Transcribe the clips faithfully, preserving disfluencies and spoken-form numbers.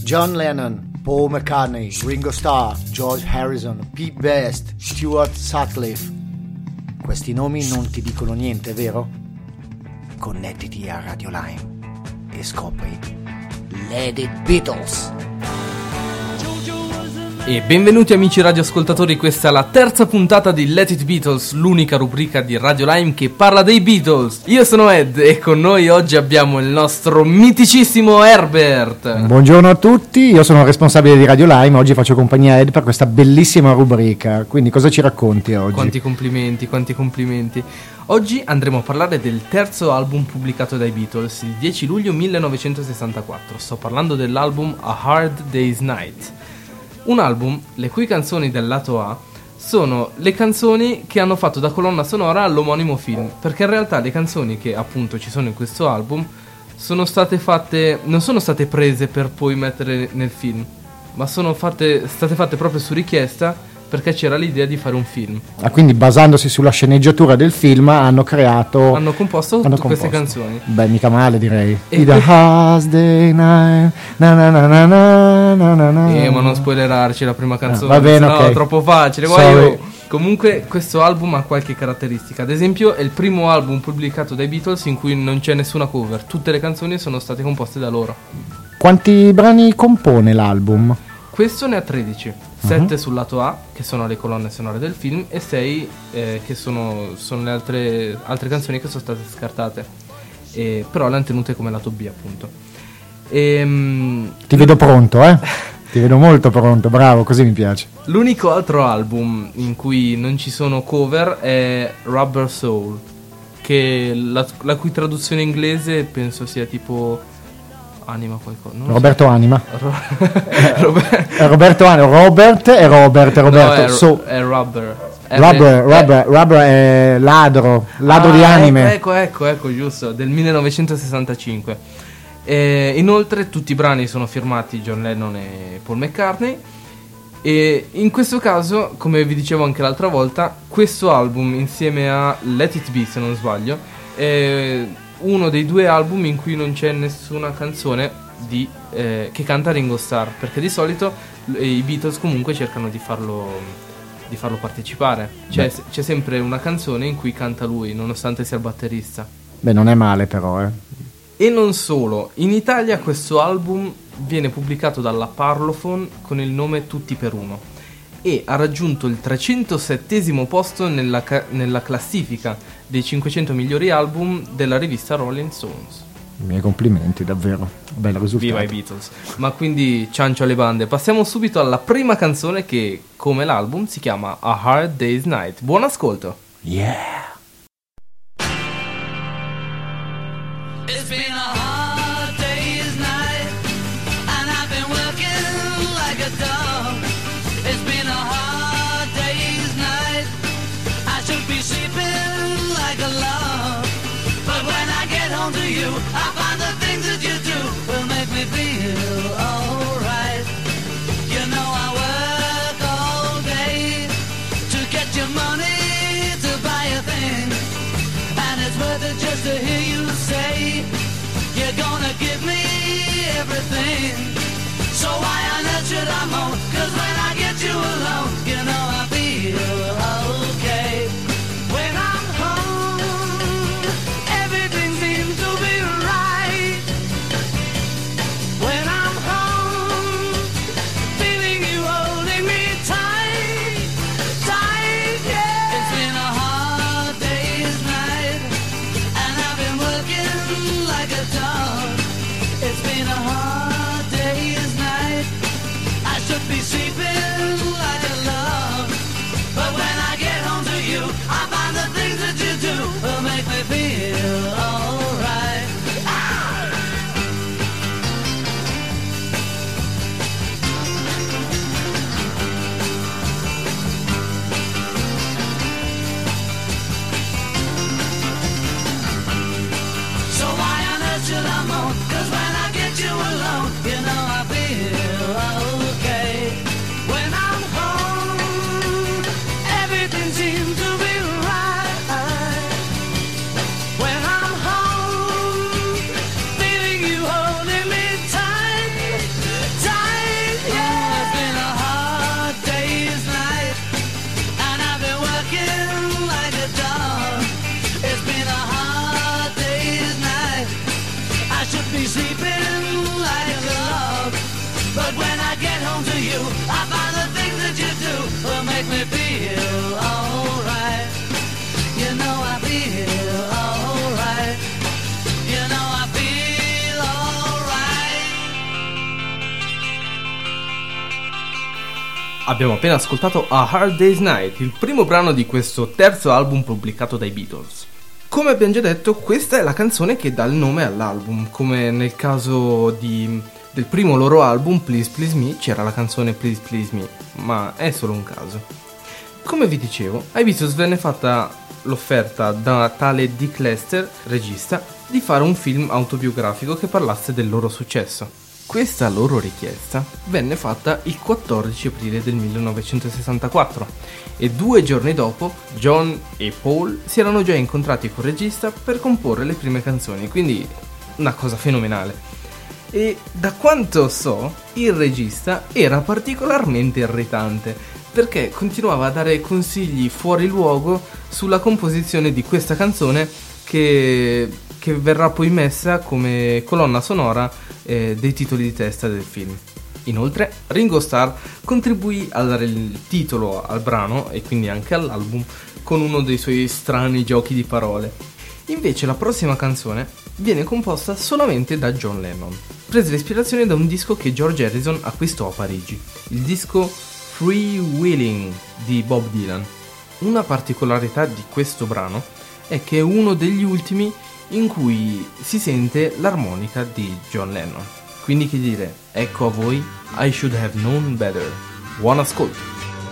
John Lennon, Paul McCartney, Ringo Starr, George Harrison, Pete Best, Stuart Sutcliffe. Questi nomi non ti dicono niente, vero? Connettiti a Radio Lime e scopri Let It Beatles. E benvenuti amici radioascoltatori, questa è la terza puntata di Let It Beatles, l'unica rubrica di Radio Lime che parla dei Beatles. Io sono Ed e con noi oggi abbiamo il nostro miticissimo Herbert. Buongiorno a tutti, io sono il responsabile di Radio Lime, oggi faccio compagnia a Ed per questa bellissima rubrica, quindi cosa ci racconti oggi? Quanti complimenti, quanti complimenti. Oggi andremo a parlare del terzo album pubblicato dai Beatles, il dieci luglio millenovecentosessantaquattro. Sto parlando dell'album A Hard Day's Night. Un album le cui canzoni del lato A sono le canzoni che hanno fatto da colonna sonora all'omonimo film, perché in realtà le canzoni che appunto ci sono in questo album sono state fatte, non sono state prese per poi mettere nel film, ma sono fatte, state fatte proprio su richiesta, perché c'era l'idea di fare un film. Ah, quindi basandosi sulla sceneggiatura del film hanno creato... Hanno composto hanno tutte composto. queste canzoni. Beh, mica male direi. E The Hard Day Night, na na na na na na na na. Eh, ma non spoilerarci la prima canzone, Ah, va bene, no, ok. è troppo facile. Guarda, io... Comunque questo album ha qualche caratteristica. Ad esempio è il primo album pubblicato dai Beatles in cui non c'è nessuna cover. Tutte le canzoni sono state composte da loro. Quanti brani compone l'album? Questo ne ha tredici. sette uh-huh. sul lato A, che sono le colonne sonore del film, e sei eh, che sono, sono le altre, altre canzoni che sono state scartate, e, però le hanno tenute come lato B, appunto. E, um, Ti vedo pronto, eh? Ti vedo molto pronto, bravo, così mi piace. L'unico altro album in cui non ci sono cover è Rubber Soul, che la, la cui traduzione inglese penso sia tipo... Anima qualcosa. Non Roberto so. Anima. Ro- Robert. Roberto Anima. Robert e Robert. Roberto. No, è, so. è Rubber. Rubber, è, Rubber, Rubber è ladro. Ladro ah, di anime. Ecco, ecco, ecco, giusto. Del millenovecentosessantacinque. E inoltre tutti i brani sono firmati John Lennon e Paul McCartney. E in questo caso, come vi dicevo anche l'altra volta, questo album insieme a Let It Be, se non sbaglio, è uno dei due album in cui non c'è nessuna canzone di, eh, che canta Ringo Starr, perché di solito i Beatles comunque cercano di farlo, di farlo partecipare. C'è, c'è sempre una canzone in cui canta lui, nonostante sia il batterista. Beh, non è male però, eh. E non solo, in Italia questo album viene pubblicato dalla Parlophone con il nome Tutti per Uno e ha raggiunto il trecentosettesimo posto nella, ca- nella classifica dei cinquecento migliori album della rivista Rolling Stones. I miei complimenti, davvero, bel risultato. Viva i Beatles. Ma quindi ciancio alle bande. Passiamo subito alla prima canzone che, come l'album, si chiama A Hard Day's Night. Buon ascolto. Yeah. It's been a hard day's night, and I've been working like a dog. It's been a hard day's night, I should be sleeping like a log. But when I get home to you, I find the things that you do will make me feel alright. You know I work all day to get your money to buy a thing, and it's worth it just to hear you say you're gonna give me everything. So why on earth should I moan? 'Cause when I get you alone, you know I feel okay. When I'm home, everything seems to be right. When I'm home, feeling you holding me tight, tight, yeah. It's been a hard day's night, and I've been working like a dog. It's been a hard day's night, I should be sleeping like a log. But when I get home to you, I find the things that you do will make me feel alright. So why on earth should I moan? 'Cause when I get you alone, you know I feel okay. When I'm home, Abbiamo appena ascoltato A Hard Day's Night, il primo brano di questo terzo album pubblicato dai Beatles. Come abbiamo già detto, questa è la canzone che dà il nome all'album, come nel caso di, del primo loro album, Please Please Me, c'era la canzone Please Please Me, ma è solo un caso. Come vi dicevo, ai Beatles venne fatta l'offerta da tale Dick Lester, regista, di fare un film autobiografico che parlasse del loro successo. Questa loro richiesta venne fatta il quattordici aprile del millenovecentosessantaquattro e due giorni dopo John e Paul si erano già incontrati col regista per comporre le prime canzoni, quindi una cosa fenomenale. E da quanto so, il regista era particolarmente irritante perché continuava a dare consigli fuori luogo sulla composizione di questa canzone che, che verrà poi messa come colonna sonora eh, dei titoli di testa del film. Inoltre Ringo Starr contribuì a dare il titolo al brano e quindi anche all'album con uno dei suoi strani giochi di parole. Invece la prossima canzone viene composta solamente da John Lennon, prese l'ispirazione da un disco che George Harrison acquistò a Parigi, il disco Free Wheeling di Bob Dylan. Una particolarità di questo brano è che è uno degli ultimi in cui si sente l'armonica di John Lennon. Quindi che dire, ecco a voi I Should Have Known Better. Buon ascolto!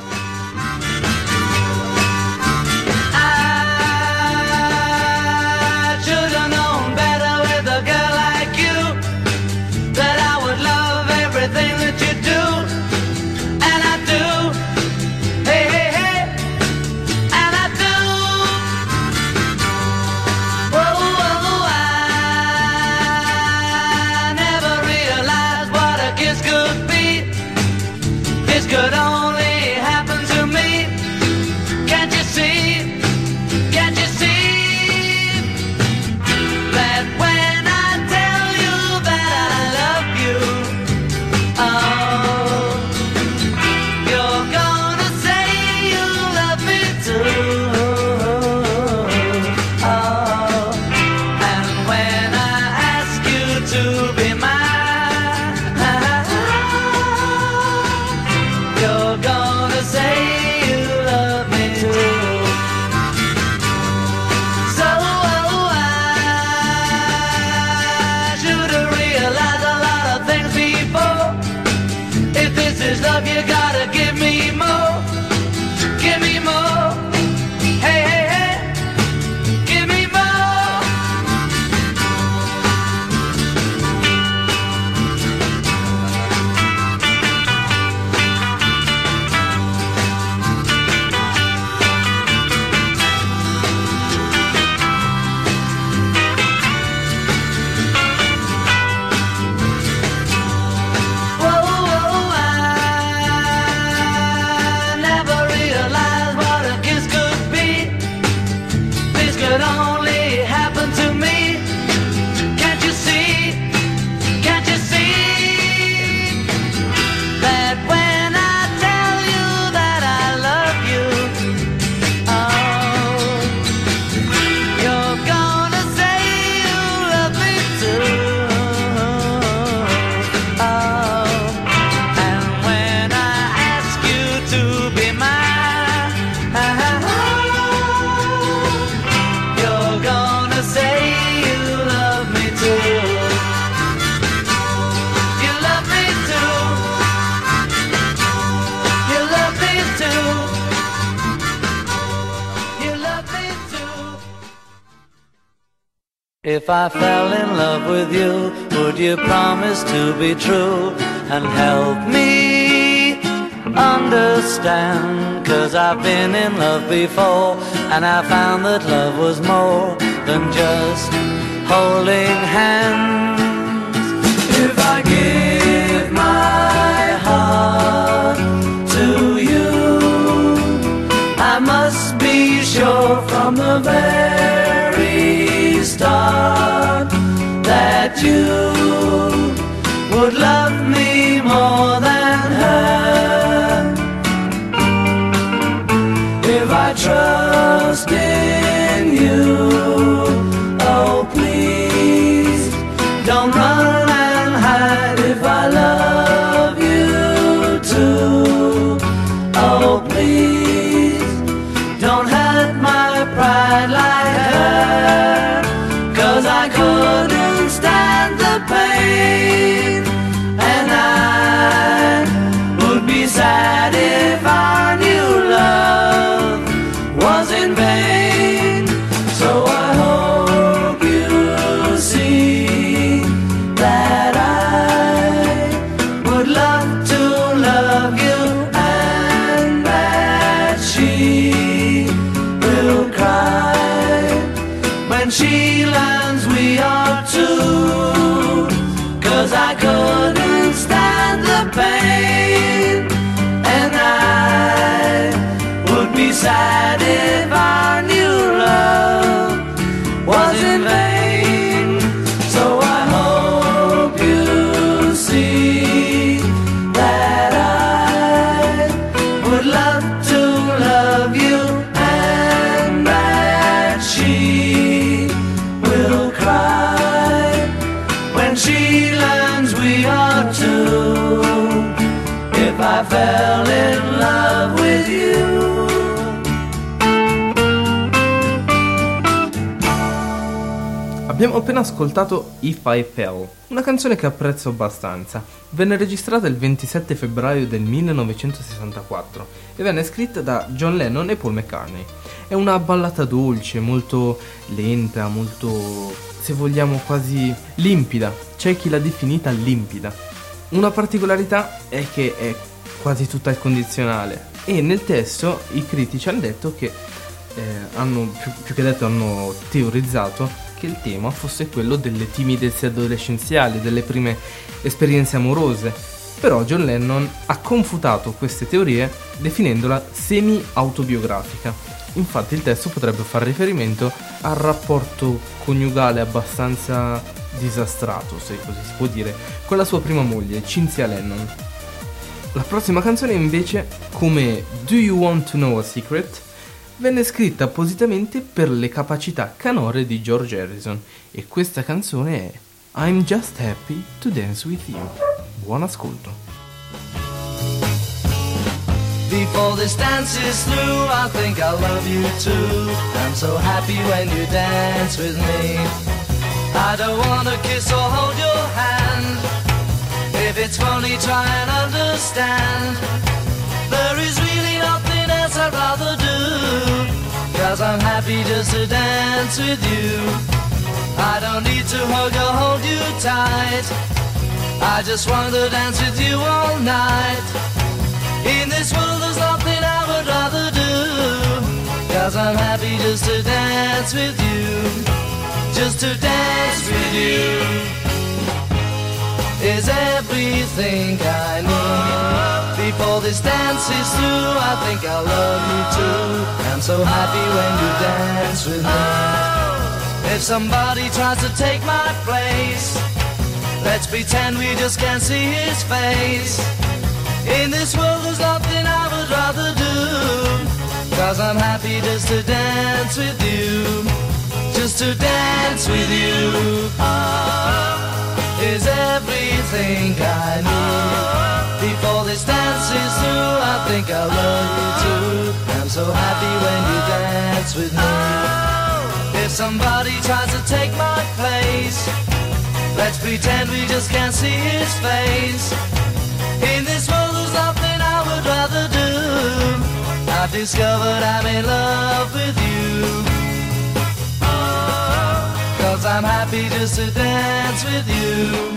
If I fell in love with you, would you promise to be true and help me understand? 'Cause I've been in love before and I found that love was more than just holding hands. If I give my heart to you, I must be sure from the very start that you would love me more than her. If I trust in you, oh please don't run and hide. If I love you too, I couldn't stand the pain, and I would be sad if our new love was in vain. So I hope you see that I would love to love you, and that she will cry when she learns we are two. If I fell in love with you. Abbiamo appena ascoltato If I Fell, una canzone che apprezzo abbastanza. Venne registrata il ventisette febbraio del millenovecentosessantaquattro e venne scritta da John Lennon e Paul McCartney. È una ballata dolce, molto lenta, molto, se vogliamo, quasi limpida. C'è chi l'ha definita limpida. Una particolarità è che è quasi tutta al condizionale e nel testo i critici hanno detto che eh, hanno più, più che detto hanno teorizzato che il tema fosse quello delle timidezze adolescenziali, delle prime esperienze amorose. Però John Lennon ha confutato queste teorie definendola semi-autobiografica. Infatti il testo potrebbe far riferimento al rapporto coniugale abbastanza disastrato, se così si può dire, con la sua prima moglie, Cynthia Lennon. La prossima canzone invece, come Do You Want to Know a Secret, venne scritta appositamente per le capacità canore di George Harrison e questa canzone è I'm Just Happy to Dance With You. Buon ascolto. Before this dance is through, I think I love you too. I'm so happy when you dance with me. I don't wanna kiss or hold your hand. If it's funny, try and understand. There is really nothing else I'd rather do, 'cause I'm happy just to dance with you. I don't need to hug or hold you tight. I just want to dance with you all night. In this world there's nothing I would rather do, 'cause I'm happy just to dance with you. Just to dance with you is everything I need. Before this dance is through, I think I love you too. I'm so happy when you dance with me. If somebody tries to take my place, let's pretend we just can't see his face. In this world there's nothing I would rather do, 'cause I'm happy just to dance with you. Just to dance with you is everything I need. Before this dance is through, I think I love you too. I'm so happy when you dance with me. If somebody tries to take my place, let's pretend we just can't see his face. In this world there's nothing I would rather do. I've discovered I'm in love with you, 'cause I'm happy just to dance with you.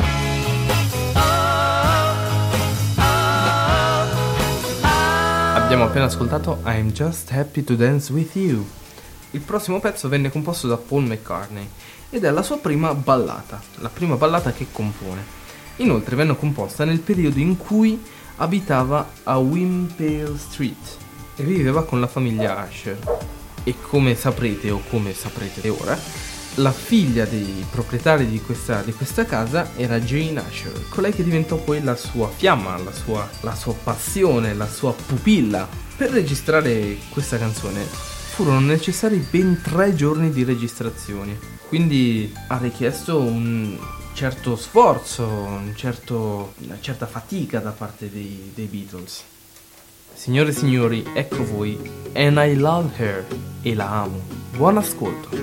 Abbiamo appena ascoltato I'm Just Happy to Dance With You. Il prossimo pezzo venne composto da Paul McCartney ed è la sua prima ballata, la prima ballata che compone. Inoltre venne composta nel periodo in cui abitava a Wimpole Street e viveva con la famiglia Usher. E come saprete o come saprete ora, la figlia dei proprietari di questa, di questa casa era Jane Usher, colei che diventò poi la sua fiamma, la sua, la sua passione, la sua pupilla. Per registrare questa canzone furono necessari ben tre giorni di registrazioni, quindi ha richiesto un certo sforzo, un certo, una certa fatica da parte dei, dei Beatles. Signore e signori, ecco voi And I Love Her, e la amo. Buon ascolto.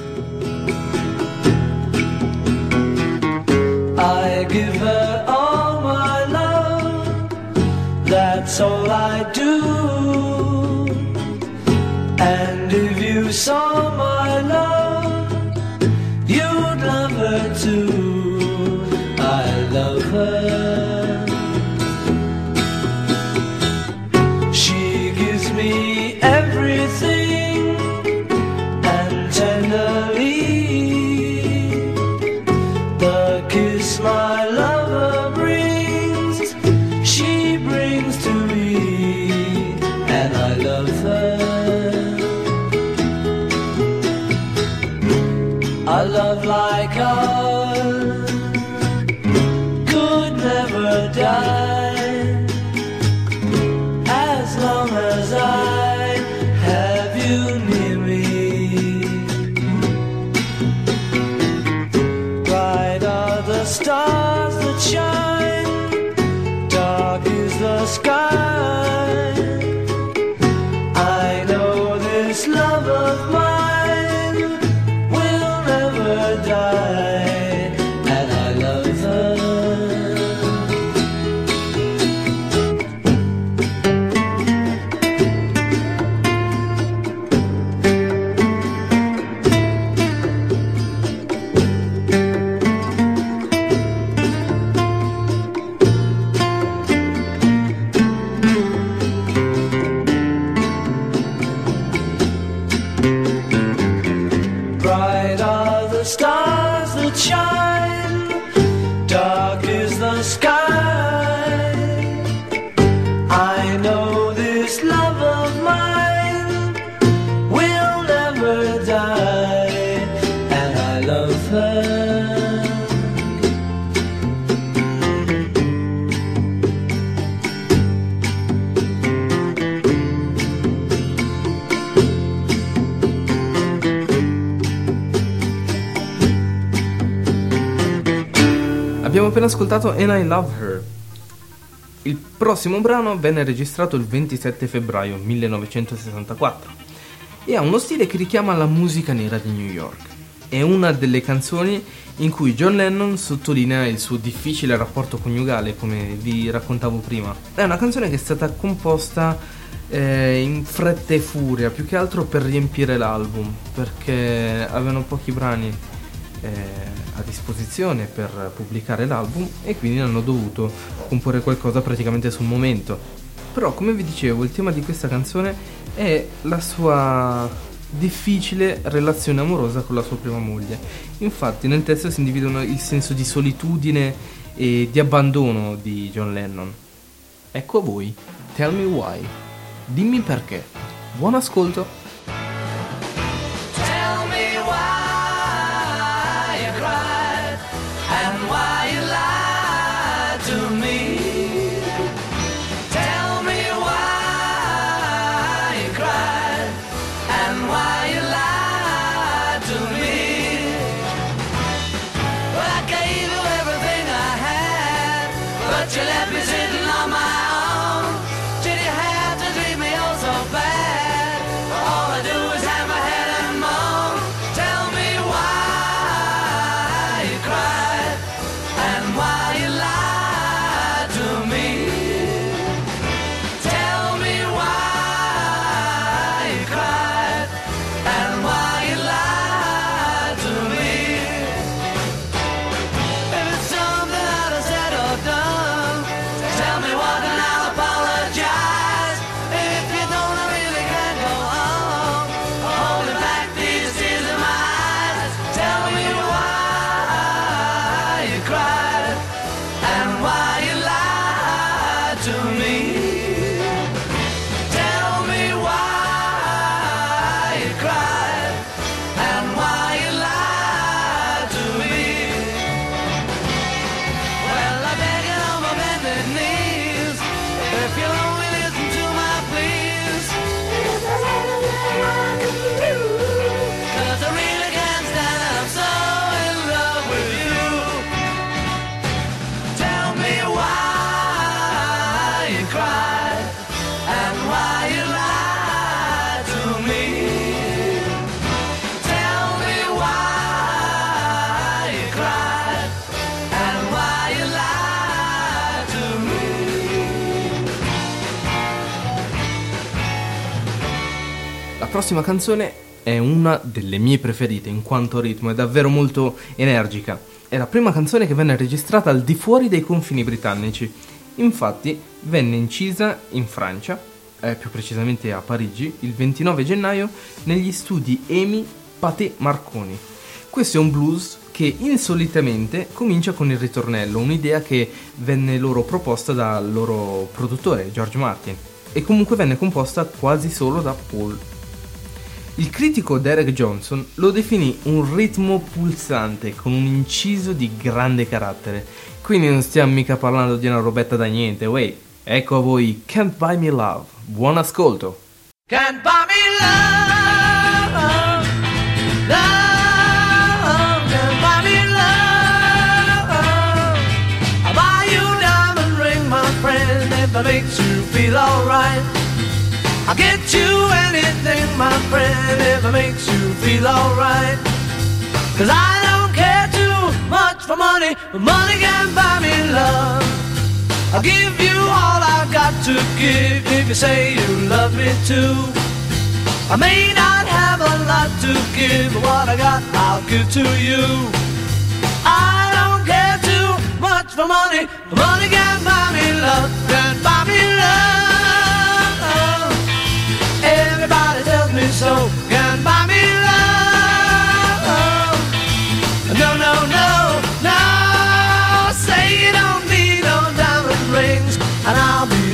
I give her all my love, that's all I do. And if you saw my love, you'd love her too. I love her. She gives me everything, and tenderly the kiss my love sky. I know this love of mine will never die, and I love her. Abbiamo appena ascoltato And I Love Her. Il prossimo brano venne registrato il ventisette febbraio millenovecentosessantaquattro e ha uno stile che richiama la musica nera di New York. È una delle canzoni in cui John Lennon sottolinea il suo difficile rapporto coniugale, come vi raccontavo prima. È una canzone che è stata composta eh, in fretta e furia, più che altro per riempire l'album, perché avevano pochi brani eh, a disposizione per pubblicare l'album e quindi hanno dovuto comporre qualcosa praticamente sul momento. Però, come vi dicevo, il tema di questa canzone è la sua difficile relazione amorosa con la sua prima moglie. Infatti nel testo si individuano il senso di solitudine e di abbandono di John Lennon. Ecco a voi Tell Me Why, dimmi perché. Buon ascolto. You left me sitting on my own. Did you have to treat me oh so bad? All I do is have my head and moan. Tell me why you cried and why you lied to me. Tell me why you cried and why you lied to me. If it's something that I said or done, tell me what and I'll apologize. If you don't, I really can't go on holding back these tears in my eyes. Tell me why you cried and why you lied to me. Tell me why you cried and why you lied to me. Well, I beg you on my bended knees, if you'll only listen to my pleas. If there's anything I can do, 'cause I really can't stand it, I'm so in love with you. Tell me why you cried and why you lied to me. Tell me why you cried and why you lied to me. La prossima canzone è una delle mie preferite in quanto ritmo, è davvero molto energica. È la prima canzone che venne registrata al di fuori dei confini britannici. Infatti venne incisa in Francia, eh, più precisamente a Parigi, il ventinove gennaio negli studi EMI Pathé Marconi. Questo è un blues che insolitamente comincia con il ritornello, un'idea che venne loro proposta dal loro produttore George Martin e comunque venne composta quasi solo da Paul. Il critico Derek Johnson lo definì un ritmo pulsante con un inciso di grande carattere. Quindi non stiamo mica parlando di una robetta da niente, wey. Ecco a voi Can't Buy Me Love. Buon ascolto. Can't buy me love, love, can't buy me love. I'll buy you a diamond ring, my friend, if it makes you feel alright. I'll get you anything, my friend, if it makes you feel alright. 'Cause I don't care too much for money, but money can't buy me love. I'll give you all I've got to give if you say you love me too. I may not have a lot to give, but what I got I'll give to you. I don't care too much for money, but money can't buy me love, can't buy me love. Everybody tells me so, can't buy me love. No, no, no, no, say you don't need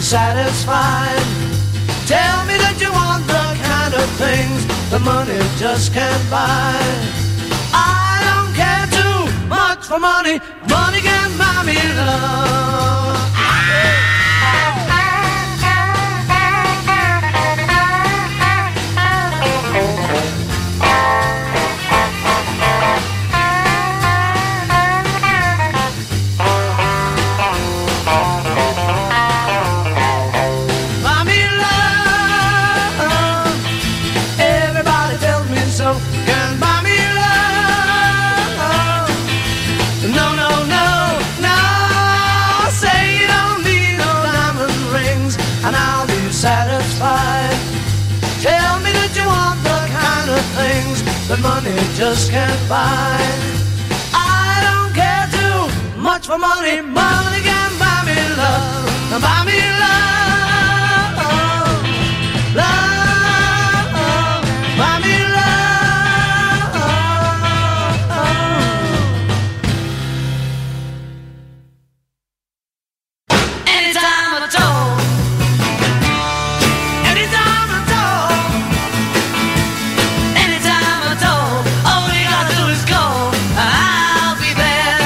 satisfied. Tell me that you want the kind of things the money just can't buy. I don't care too much for money. Money can buy me love. That money just can't buy. I don't care too much for money. Money can buy me love. Buy me love. Love. Buy me love. Anytime at all. Anytime at all. Anytime at all. All you gotta do is go, and I'll be there.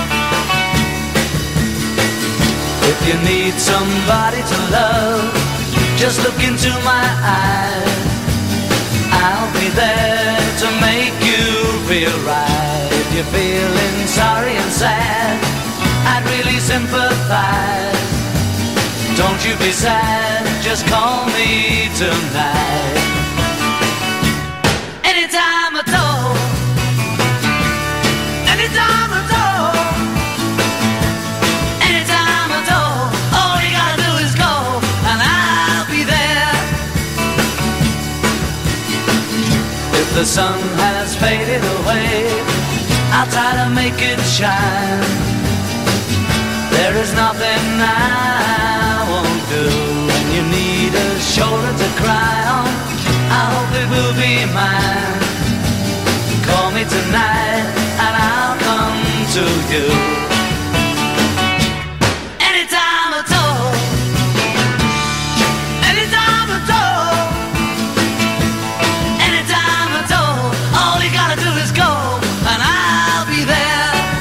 If you need somebody to love, just look into my eyes. I'll be there to make you feel right. If you're feeling sorry and sad, I'd really sympathize. Don't you be sad, just call me tonight. Anytime at all. Anytime at all. Anytime at all. All you gotta do is go, and I'll be there. If the sun has faded away, I'll try to make it shine. There is nothing I won't do. When you need a shoulder to cry on, I hope it will be mine. Call me tonight and I'll come to you. Anytime at all. Anytime at all. Anytime at all. All you gotta do is go, and I'll be there.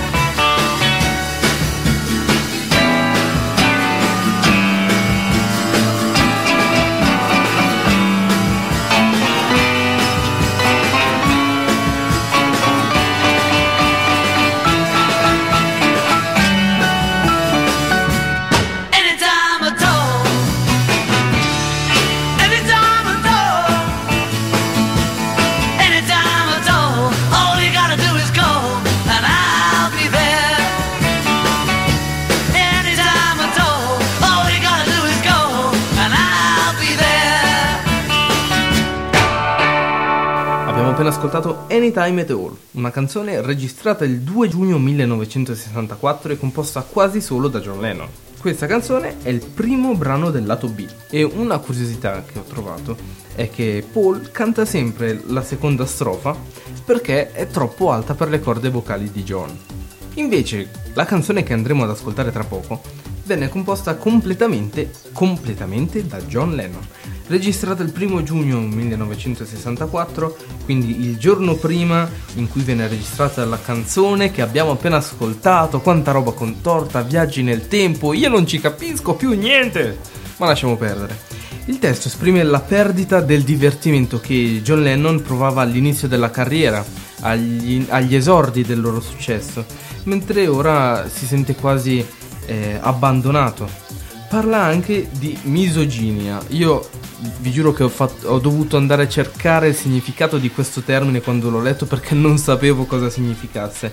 Appena ascoltato Anytime at All, una canzone registrata il due giugno millenovecentosessantaquattro e composta quasi solo da John Lennon. Questa canzone è il primo brano del lato B e una curiosità che ho trovato è che Paul canta sempre la seconda strofa perché è troppo alta per le corde vocali di John. Invece la canzone che andremo ad ascoltare tra poco venne composta completamente, completamente da John Lennon, registrata il primo giugno millenovecentosessantaquattro, quindi il giorno prima in cui venne registrata la canzone che abbiamo appena ascoltato. Quanta roba contorta, viaggi nel tempo, io non ci capisco più niente, ma lasciamo perdere. Il testo esprime la perdita del divertimento che John Lennon provava all'inizio della carriera, agli, agli esordi del loro successo, mentre ora si sente quasi eh, abbandonato. Parla anche di misoginia. Io vi giuro che ho, fatto, ho dovuto andare a cercare il significato di questo termine quando l'ho letto, perché non sapevo cosa significasse,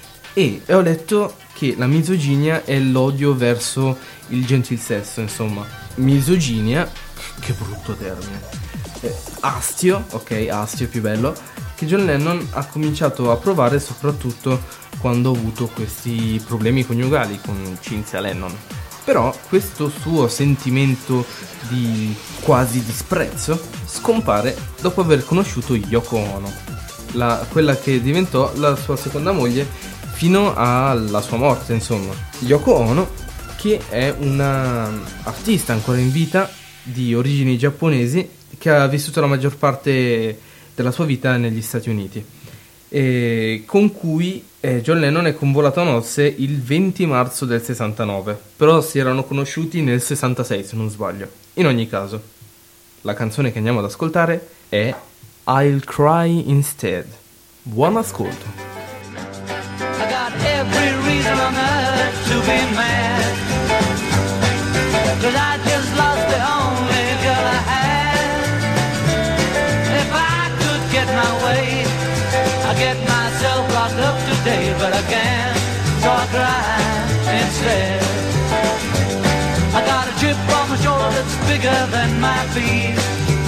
e ho letto che la misoginia è l'odio verso il gentil sesso, insomma. Misoginia, che brutto termine. eh, Astio, ok, astio più bello, che John Lennon ha cominciato a provare soprattutto quando ha avuto questi problemi coniugali con Cynthia Lennon. Però questo suo sentimento di quasi disprezzo scompare dopo aver conosciuto Yoko Ono, la, quella che diventò la sua seconda moglie fino alla sua morte, insomma. Yoko Ono, Miki è una artista ancora in vita di origini giapponesi che ha vissuto la maggior parte della sua vita negli Stati Uniti, e con cui eh, John Lennon è convolato a nozze il venti marzo del sessantanove, però si erano conosciuti nel sessantasei se non sbaglio. In ogni caso, la canzone che andiamo ad ascoltare è I'll Cry Instead. Buon ascolto. I got every reason on earth to be mad, 'cause I just lost the only girl I had. If I could get my way, I'd get myself locked up today, but I can't, so I cry instead. I got a chip on my shoulder that's bigger than my feet.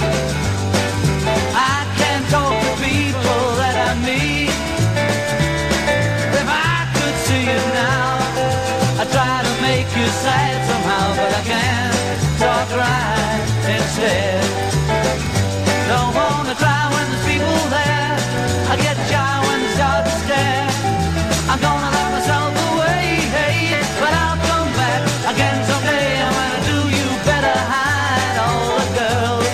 I can't talk to people that I meet. If I could see you now, I try to make you sad somehow, but I can't, so I cry instead. Don't wanna cry when there's people there, I get shy when they start to stare. I'm gonna let myself away, hey, but I'll come back again someday, and when I do, you better hide all the girls.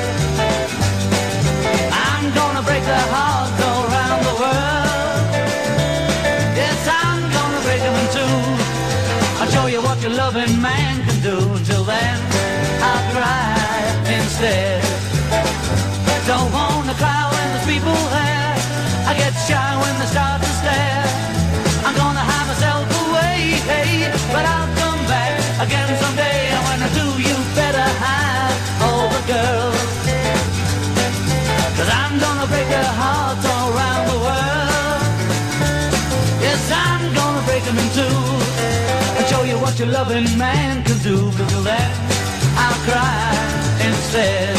I'm gonna break their hearts all around the world. Yes, I'm gonna break them in two. I'll show you what your loving man can do. Until then, I'll cry instead. Don't wanna cry when there's people there, I get shy when they start to stare. I'm gonna hide myself away, hey, but I'll come back again someday, and when I do, you better hide all the girls. 'Cause I'm gonna break their hearts all around the world. Yes, I'm gonna break them in two, and show you what your loving man can do. But till then, I'll cry instead.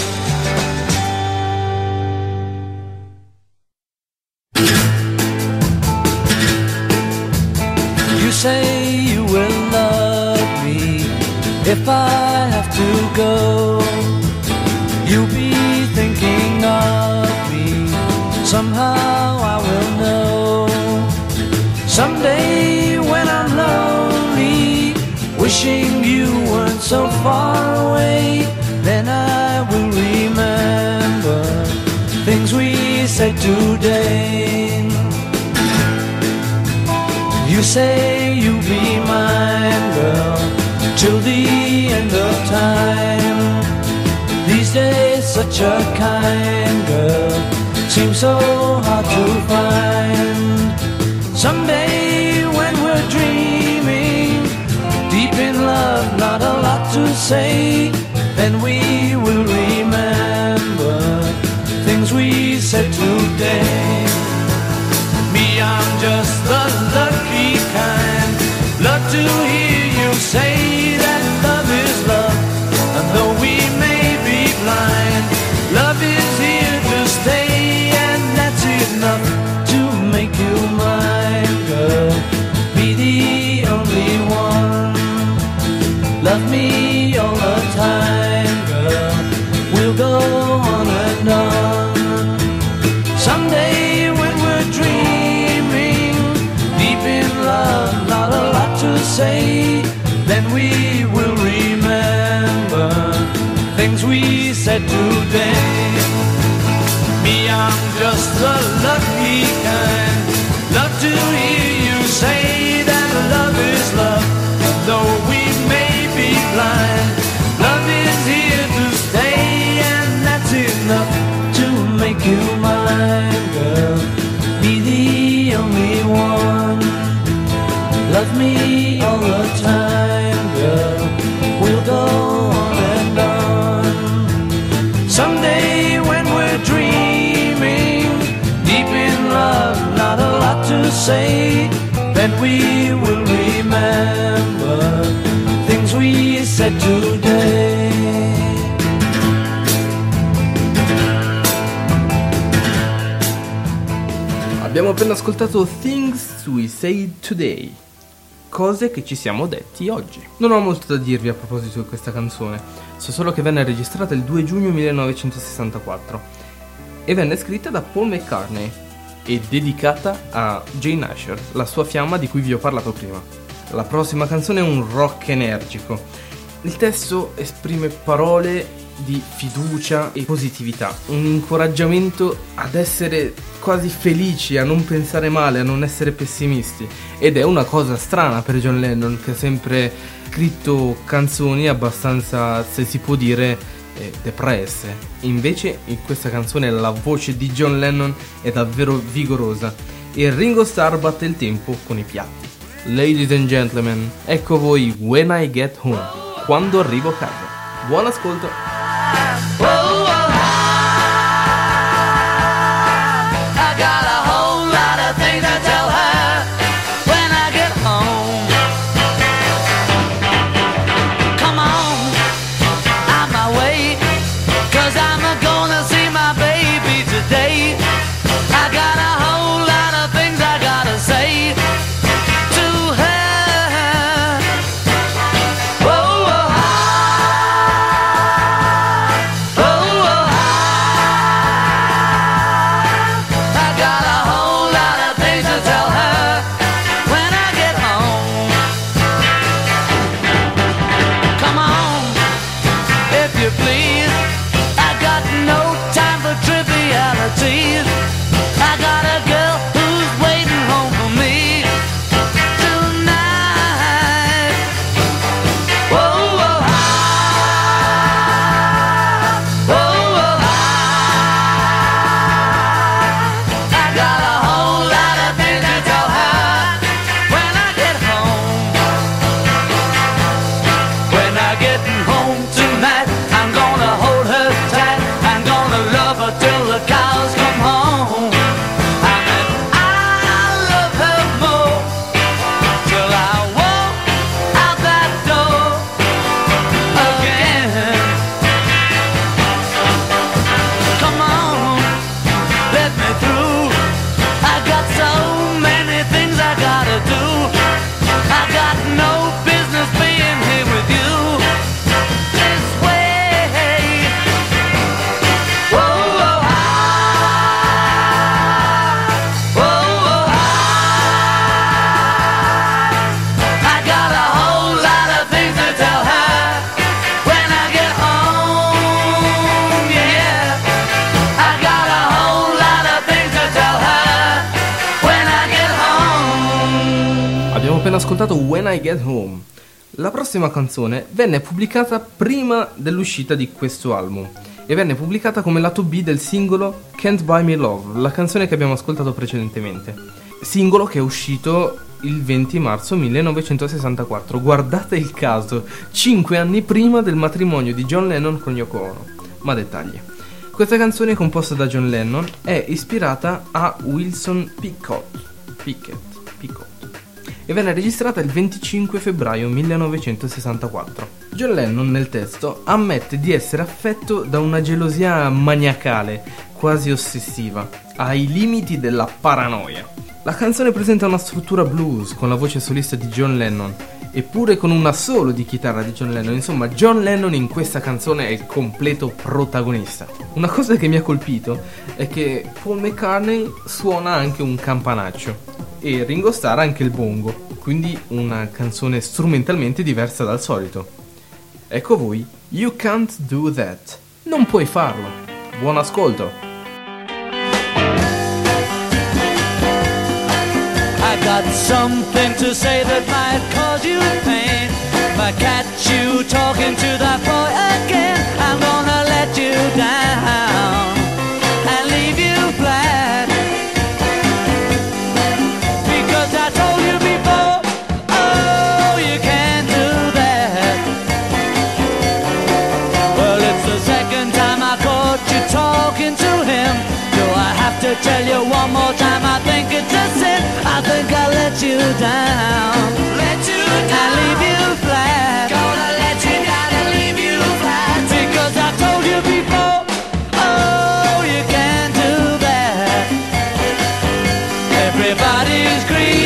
You say you will love me if I have to go. You'll be thinking of me, somehow I will know. Someday when I'm lonely, wishing you weren't so far away, then I will remember things we said today. You say you'll be mine, girl, till the end of time. These days such a kind girl seems so hard to find. Someday when we're dreaming, deep in love, not a lot to say, then we will remember things we said today. Me, I'm just the lucky kind, love to hear you say that love is love, and though we may be blind, love is here to stay, and that's enough to make you mine, girl. Be the only one, love me all the time, girl. We'll go on and on. Someday when we're dreaming, deep in love, not a lot to say, then we will remember things we said today. Me, I'm just the lucky kind, love to hear you say that love is love, though we may be blind, love is here to stay, and that's enough to make you mine, girl. Be the only one, love me all the time, girl. We'll go on and on. Someday when we're dreaming, deep in love, not a lot to say, then we will remember things we said today. Abbiamo appena ascoltato Things We Said Today, cose che ci siamo detti oggi. Non ho molto da dirvi a proposito di questa canzone, so solo che venne registrata il due giugno millenovecentosessantaquattro e venne scritta da Paul McCartney e dedicata a Jane Asher, la sua fiamma di cui vi ho parlato prima. La prossima canzone è un rock energico. Il testo esprime parole di fiducia e positività, un incoraggiamento ad essere quasi felici, a non pensare male, a non essere pessimisti. Ed è una cosa strana per John Lennon, che ha sempre scritto canzoni abbastanza, se si può dire, eh, depresse. Invece in questa canzone la voce di John Lennon è davvero vigorosa e Ringo Starr batte il tempo con i piatti. Ladies and gentlemen, ecco voi When I Get Home, quando arrivo a casa. Buon ascolto. Whoa, whoa, I got a whole lot of things to tell her when I get home. Come on, on my way, 'cause I'm gonna see my baby today. I got a whole lot of things I gotta say to her. Whoa, whoa, appena ascoltato When I Get Home. La prossima canzone venne pubblicata prima dell'uscita di questo album e venne pubblicata come lato B del singolo Can't Buy Me Love, la canzone che abbiamo ascoltato precedentemente. Singolo che è uscito il venti marzo millenovecentosessantaquattro, guardate il caso, cinque anni prima del matrimonio di John Lennon con Yoko Ono. Ma dettagli. Questa canzone, composta da John Lennon, è ispirata a Wilson Pickett, Pickett, Pickett e venne registrata il venticinque febbraio millenovecentosessantaquattro. John Lennon nel testo ammette di essere affetto da una gelosia maniacale, quasi ossessiva, ai limiti della paranoia. La canzone presenta una struttura blues con la voce solista di John Lennon, eppure con un assolo di chitarra di John Lennon. Insomma, John Lennon in questa canzone è il completo protagonista. Una cosa che mi ha colpito è che Paul McCartney suona anche un campanaccio e Ringo Starr anche il bongo, quindi una canzone strumentalmente diversa dal solito. Ecco voi, You Can't Do That. Non puoi farlo. Buon ascolto. I got something to say that might cause you pain. Might catch you talking to that boy again. I'm gonna let you down and leave you flat, because I told you before, oh, you can't do that. Well, it's the second time I caught you talking to him. Do I have to tell you one more time? I think it's a sin. I think I'll let you down, let you down, and leave you flat. Gonna let you down and leave you flat, because I told you before, oh, you can't do that. Everybody's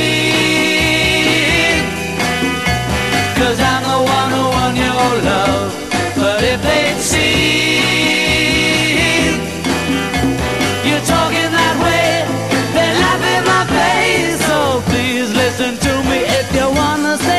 green, 'cause I'm the one who won your love. But if they'd seen you talking that way, they laugh in my face. So please listen to me if you wanna say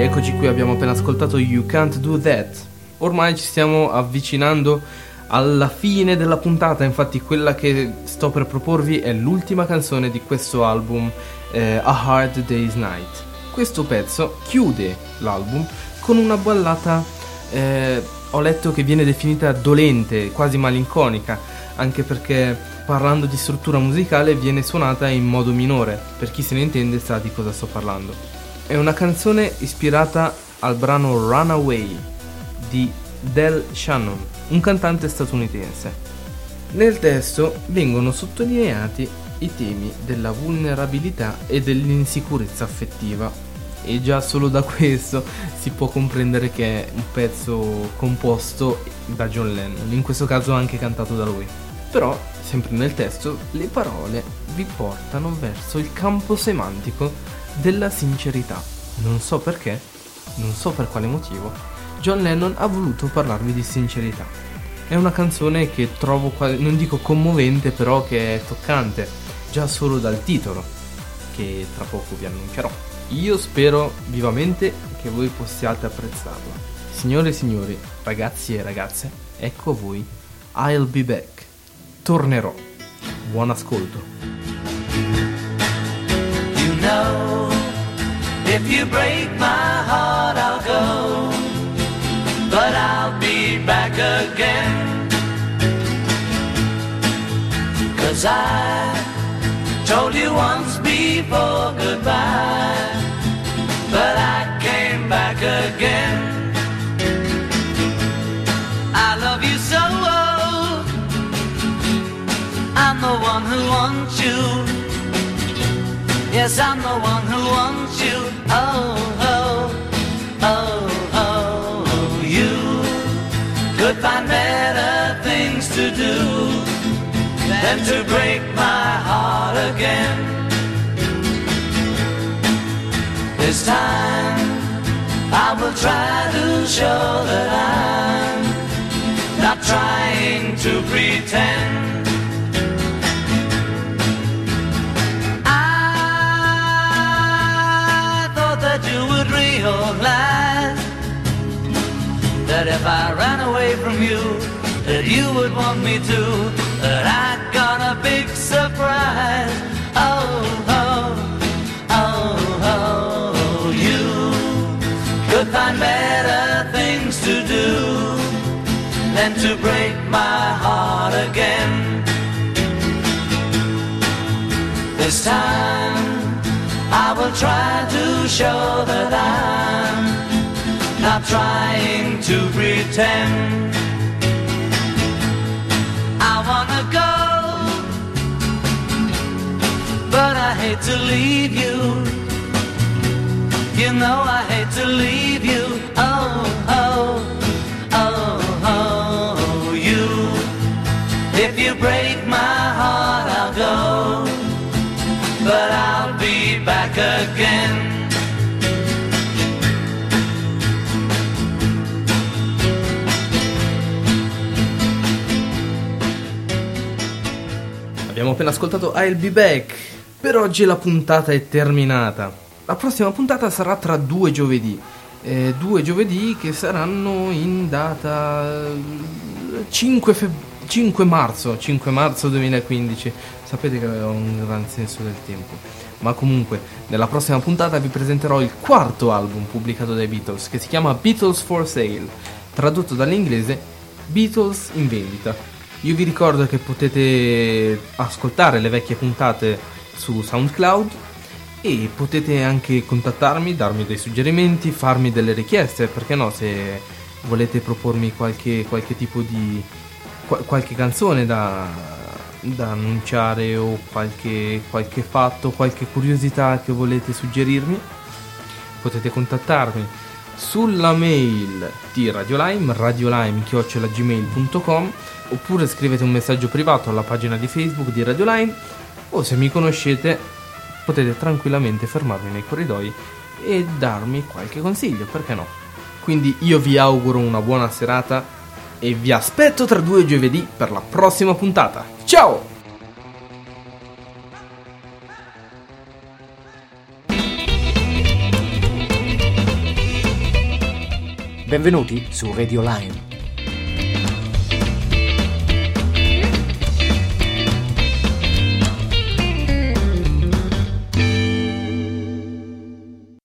eccoci qui, abbiamo appena ascoltato You Can't Do That. Ormai ci stiamo avvicinando alla fine della puntata, infatti quella che sto per proporvi è l'ultima canzone di questo album, eh, A Hard Day's Night. Questo pezzo chiude l'album con una ballata, eh, ho letto che viene definita dolente, quasi malinconica, anche perché parlando di struttura musicale viene suonata in modo minore, per chi se ne intende sa di cosa sto parlando. È una canzone ispirata al brano Runaway di Del Shannon, un cantante statunitense. Nel testo vengono sottolineati i temi della vulnerabilità e dell'insicurezza affettiva, e già solo da questo si può comprendere che è un pezzo composto da John Lennon, in questo caso anche cantato da lui. Però, sempre nel testo, le parole vi portano verso il campo semantico della sincerità. Non so perché, non so per quale motivo, John Lennon ha voluto parlarvi di sincerità. È una canzone che trovo, quasi, non dico commovente, però che è toccante, già solo dal titolo, che tra poco vi annuncerò. Io spero vivamente che voi possiate apprezzarla. Signore e signori, ragazzi e ragazze, ecco a voi I'll Be Back. Tornerò. Buon ascolto. You know, if you break my heart, I'll go, but I'll be back again. 'Cause I told you once before goodbye, but I came back again. I love you so, I'm the one who wants you. Yes, I'm the one who wants you. Oh, oh, oh, oh. You could find better things to do than to break my heart again. This time I will try to show that I'm not trying to pretend. You would realize that if I ran away from you, that you would want me to, that I got a big surprise. Oh, oh, oh, oh, you could find better things to do than to break my heart again. This time I will try to show that I'm not trying to pretend. I wanna go, but I hate to leave you. You know I hate to leave you. Oh, oh, oh, oh, you. If you break my heart, I'll go, but I'll be back again. Abbiamo appena ascoltato I'll Be Back. Per oggi la puntata è terminata. La prossima puntata sarà tra due giovedì. Eh, due giovedì che saranno in data cinque, feb- cinque marzo cinque marzo duemilaquindici. Sapete che ho un gran senso del tempo. Ma comunque, nella prossima puntata vi presenterò il quarto album pubblicato dai Beatles, che si chiama Beatles for Sale, tradotto dall'inglese Beatles in vendita. Io vi ricordo che potete ascoltare le vecchie puntate su SoundCloud e potete anche contattarmi, darmi dei suggerimenti, farmi delle richieste, perché no, se volete propormi qualche, qualche tipo di qualche canzone da, da annunciare o qualche, qualche fatto, qualche curiosità che volete suggerirmi, potete contattarmi sulla mail di Radiolime, radiolime chiocciola gmail punto com, oppure scrivete un messaggio privato alla pagina di Facebook di Radiolime, o se mi conoscete potete tranquillamente fermarmi nei corridoi e darmi qualche consiglio, perché no? Quindi io vi auguro una buona serata e vi aspetto tra due giovedì per la prossima puntata. Ciao! Benvenuti su Radio Lime.